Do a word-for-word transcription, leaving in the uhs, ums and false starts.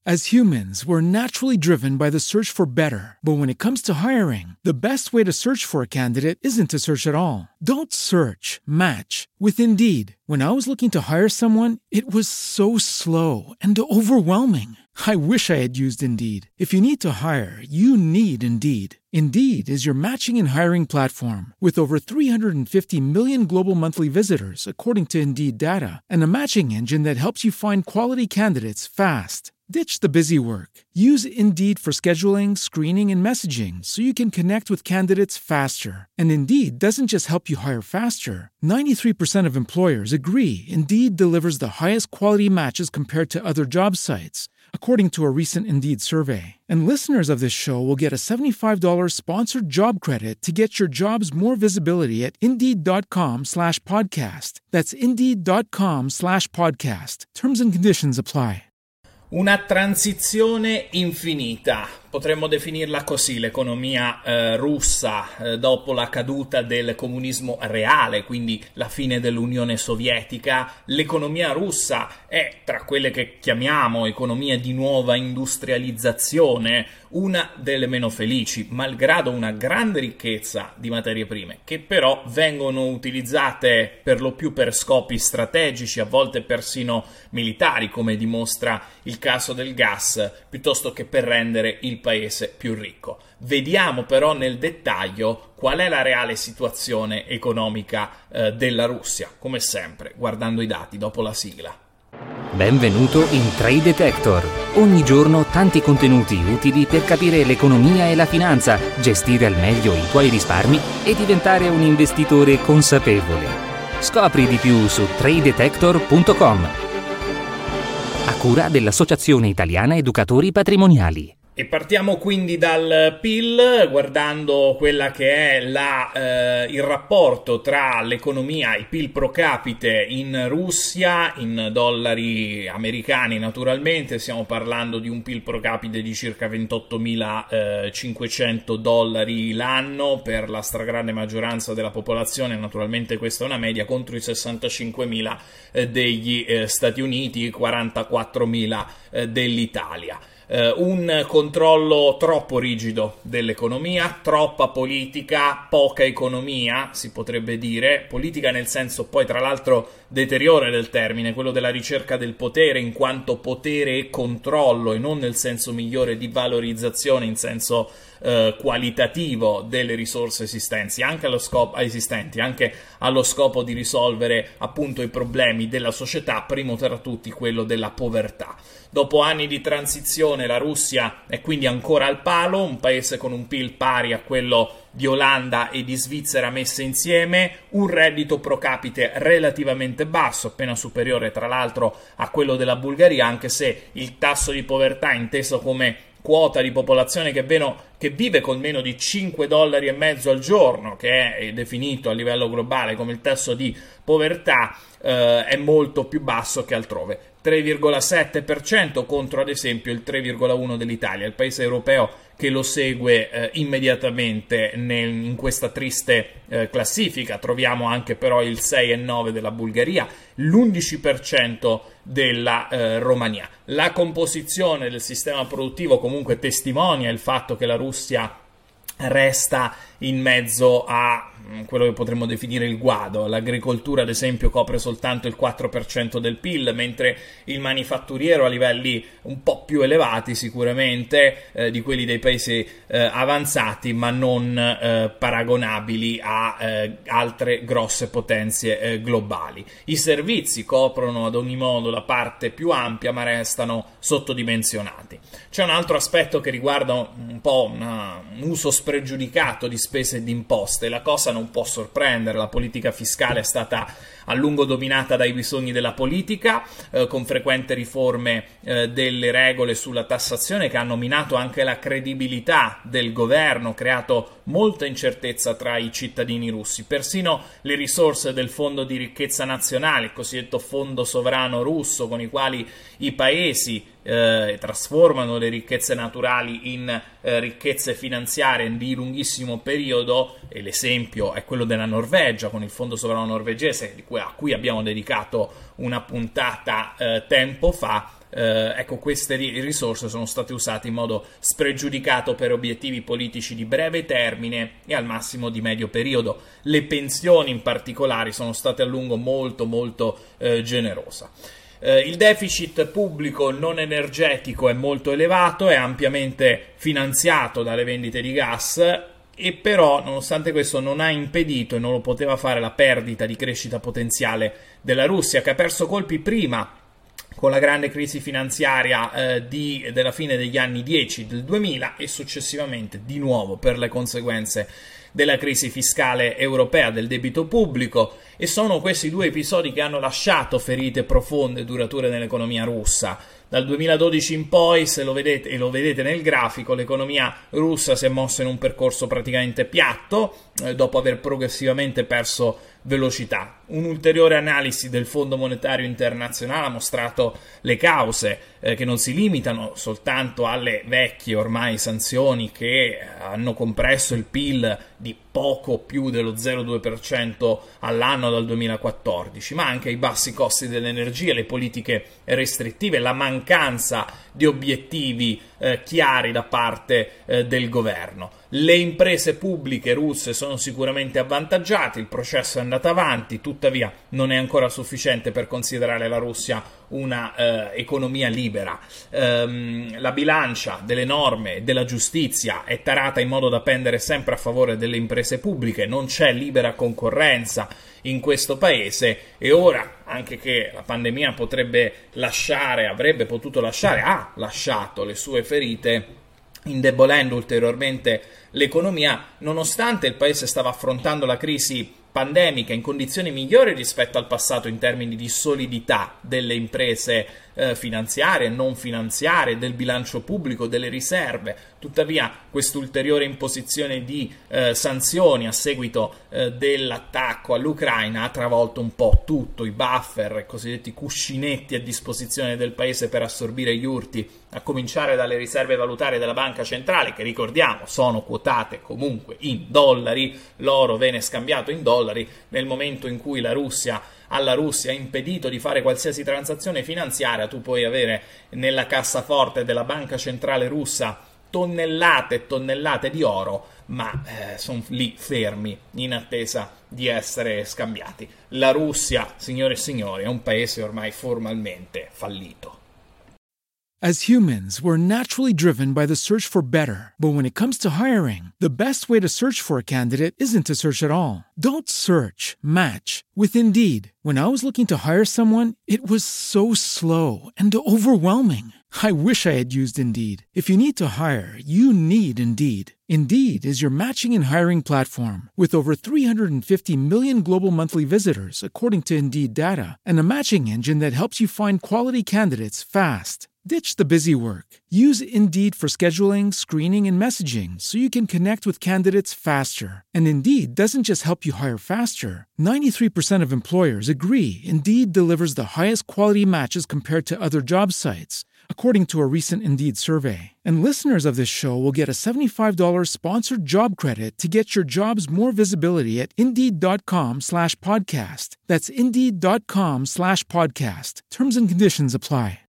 As humans, we're naturally driven by the search for better. But when it comes to hiring, the best way to search for a candidate isn't to search at all. Don't search, match with Indeed. When I was looking to hire someone, it was so slow and overwhelming. I wish I had used Indeed. If you need to hire, you need Indeed. Indeed is your matching and hiring platform with over three hundred fifty million global monthly visitors, according to Indeed data, and a matching engine that helps you find quality candidates fast. Ditch the busy work. Use Indeed for scheduling, screening, and messaging so you can connect with candidates faster. And Indeed doesn't just help you hire faster. ninety-three percent of employers agree Indeed delivers the highest quality matches compared to other job sites, according to a recent Indeed survey. And listeners of this show will get a seventy-five dollars sponsored job credit to get your jobs more visibility at Indeed.com slash podcast. That's Indeed.com slash podcast. Terms and conditions apply. Una transizione infinita, potremmo definirla così, l'economia eh, russa eh, dopo la caduta del comunismo reale, quindi la fine dell'Unione Sovietica. L'economia russa è, tra quelle che chiamiamo economie di nuova industrializzazione, una delle meno felici, malgrado una grande ricchezza di materie prime, che però vengono utilizzate per lo più per scopi strategici, a volte persino militari, come dimostra il caso del gas, piuttosto che per rendere il paese più ricco. Vediamo però nel dettaglio qual è la reale situazione economica eh, della Russia, come sempre, guardando i dati dopo la sigla. Benvenuto in Trade Detector. Ogni giorno tanti contenuti utili per capire l'economia e la finanza, gestire al meglio i tuoi risparmi e diventare un investitore consapevole. Scopri di più su trade detector punto com. A cura dell'Associazione Italiana Educatori Patrimoniali. E partiamo quindi dal P I L, guardando quella che è la, eh, il rapporto tra l'economia, il P I L pro capite in Russia, in dollari americani naturalmente. Stiamo parlando di un P I L pro capite di circa ventottomilacinquecento dollari l'anno per la stragrande maggioranza della popolazione. Naturalmente questa è una media, contro i sessantacinquemila eh, degli eh, Stati Uniti, quarantaquattromila eh, dell'Italia. Uh, un controllo troppo rigido dell'economia, troppa politica, poca economia, si potrebbe dire, politica nel senso poi tra l'altro deteriore del termine, quello della ricerca del potere in quanto potere e controllo, e non nel senso migliore di valorizzazione in senso uh, qualitativo delle risorse esistenti, anche allo scopo, esistenti, anche allo scopo di risolvere appunto i problemi della società, primo tra tutti quello della povertà. Dopo anni di transizione la Russia è quindi ancora al palo, un paese con un P I L pari a quello di Olanda e di Svizzera messe insieme, un reddito pro capite relativamente basso, appena superiore tra l'altro a quello della Bulgaria, anche se il tasso di povertà inteso come quota di popolazione che, veno, che vive con meno di cinque dollari e mezzo al giorno, che è definito a livello globale come il tasso di povertà, eh, è molto più basso che altrove. tre virgola sette per cento contro ad esempio il tre virgola uno per cento dell'Italia, il paese europeo che lo segue eh, immediatamente nel, in questa triste eh, classifica. Troviamo anche però il sei virgola nove per cento della Bulgaria, l'undici per cento della eh, Romania. La composizione del sistema produttivo comunque testimonia il fatto che la Russia resta in mezzo a quello che potremmo definire il guado. L'agricoltura ad esempio copre soltanto il quattro per cento del P I L, mentre il manifatturiero a livelli un po' più elevati sicuramente eh, di quelli dei paesi eh, avanzati, ma non eh, paragonabili a eh, altre grosse potenze eh, globali. I servizi coprono ad ogni modo la parte più ampia, ma restano sottodimensionati. C'è un altro aspetto che riguarda un po' una, un uso spregiudicato di spese e di imposte. La cosa non può sorprendere, la politica fiscale è stata a lungo dominata dai bisogni della politica, eh, con frequenti riforme eh, delle regole sulla tassazione che hanno minato anche la credibilità del governo, creato molta incertezza tra i cittadini russi. Persino le risorse del Fondo di ricchezza nazionale, il cosiddetto fondo sovrano russo, con i quali i paesi eh, trasformano le ricchezze naturali in eh, ricchezze finanziarie di lunghissimo periodo, e l'esempio è quello della Norvegia con il fondo sovrano norvegese, di cui, a cui abbiamo dedicato una puntata eh, tempo fa, eh, ecco, queste risorse sono state usate in modo spregiudicato per obiettivi politici di breve termine e al massimo di medio periodo. Le pensioni in particolare sono state a lungo molto molto eh, generose. Eh, il deficit pubblico non energetico è molto elevato, è ampiamente finanziato dalle vendite di gas, e però nonostante questo non ha impedito e non lo poteva fare la perdita di crescita potenziale della Russia, che ha perso colpi prima con la grande crisi finanziaria eh, di, della fine degli anni dieci del duemila e successivamente di nuovo per le conseguenze della crisi fiscale europea, del debito pubblico, e sono questi due episodi che hanno lasciato ferite profonde e durature nell'economia russa. Dal duemiladodici in poi, se lo vedete, e lo vedete nel grafico, l'economia russa si è mossa in un percorso praticamente piatto, eh, dopo aver progressivamente perso velocità. Un'ulteriore analisi del Fondo Monetario Internazionale ha mostrato le cause, eh, che non si limitano soltanto alle vecchie ormai sanzioni che hanno compresso il P I L di poco più dello zero virgola due per cento all'anno dal duemilaquattordici, ma anche ai bassi costi dell'energia, le politiche restrittive, la mancanza di obiettivi eh, chiari da parte eh, del governo. Le imprese pubbliche russe sono sicuramente avvantaggiate, il processo è andato avanti, tuttavia non è ancora sufficiente per considerare la Russia una eh, economia libera. Ehm, la bilancia delle norme e della giustizia è tarata in modo da pendere sempre a favore delle imprese pubbliche, non c'è libera concorrenza in questo paese, e ora, anche che la pandemia potrebbe lasciare, avrebbe potuto lasciare, ha lasciato le sue ferite, indebolendo ulteriormente l'economia, nonostante il paese stava affrontando la crisi pandemica in condizioni migliori rispetto al passato in termini di solidità delle imprese eh, finanziarie, non finanziarie, del bilancio pubblico, delle riserve. Tuttavia quest'ulteriore imposizione di eh, sanzioni a seguito eh, dell'attacco all'Ucraina ha travolto un po' tutto, i buffer, i cosiddetti cuscinetti a disposizione del paese per assorbire gli urti, a cominciare dalle riserve valutarie della Banca Centrale, che ricordiamo sono quotate comunque in dollari, l'oro viene scambiato in dollari. Nel momento in cui la Russia alla Russia ha impedito di fare qualsiasi transazione finanziaria, tu puoi avere nella cassaforte della Banca Centrale russa tonnellate e tonnellate di oro, ma eh, sono lì fermi in attesa di essere scambiati. La Russia, signore e signori, è un paese ormai formalmente fallito. As humans, we're naturally driven by the search for better. But when it comes to hiring, the best way to search for a candidate isn't to search at all. Don't search, match with Indeed. When I was looking to hire someone, it was so slow and overwhelming. I wish I had used Indeed. If you need to hire, you need Indeed. Indeed is your matching and hiring platform with over three hundred fifty million global monthly visitors, according to Indeed data, and a matching engine that helps you find quality candidates fast. Ditch the busy work. Use Indeed for scheduling, screening, and messaging so you can connect with candidates faster. And Indeed doesn't just help you hire faster. ninety-three percent of employers agree Indeed delivers the highest quality matches compared to other job sites, according to a recent Indeed survey. And listeners of this show will get a seventy-five dollars sponsored job credit to get your jobs more visibility at Indeed.com slash podcast. That's Indeed.com slash podcast. Terms and conditions apply.